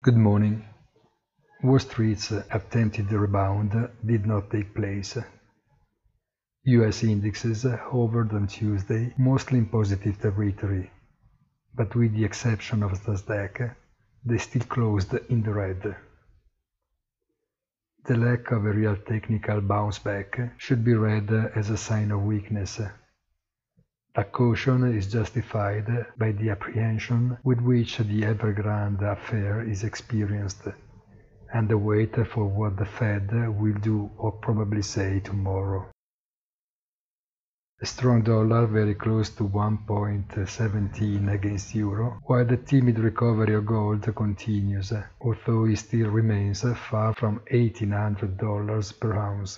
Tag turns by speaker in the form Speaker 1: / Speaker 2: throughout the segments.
Speaker 1: Good morning. Wall Street's attempted rebound did not take place. US indexes hovered on Tuesday mostly in positive territory, but with the exception of Nasdaq, they still closed in the red. The lack of a real technical bounce back should be read as a sign of weakness. But caution is justified by the apprehension with which the Evergrande affair is experienced, and the wait for what the Fed will do or probably say tomorrow. A strong dollar very close to 1.17 against euro, while the timid recovery of gold continues, although it still remains far from $1,800 per ounce.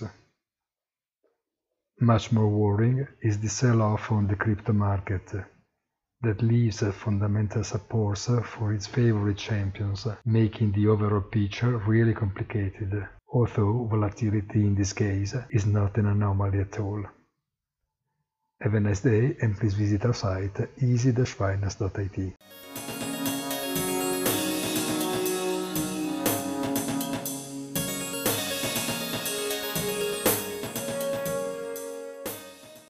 Speaker 1: Much more worrying is the sell-off on the crypto market, that leaves fundamental supports for its favorite champions, making the overall picture really complicated, although volatility in this case is not an anomaly at all. Have a nice day and please visit our site easy-finance.it.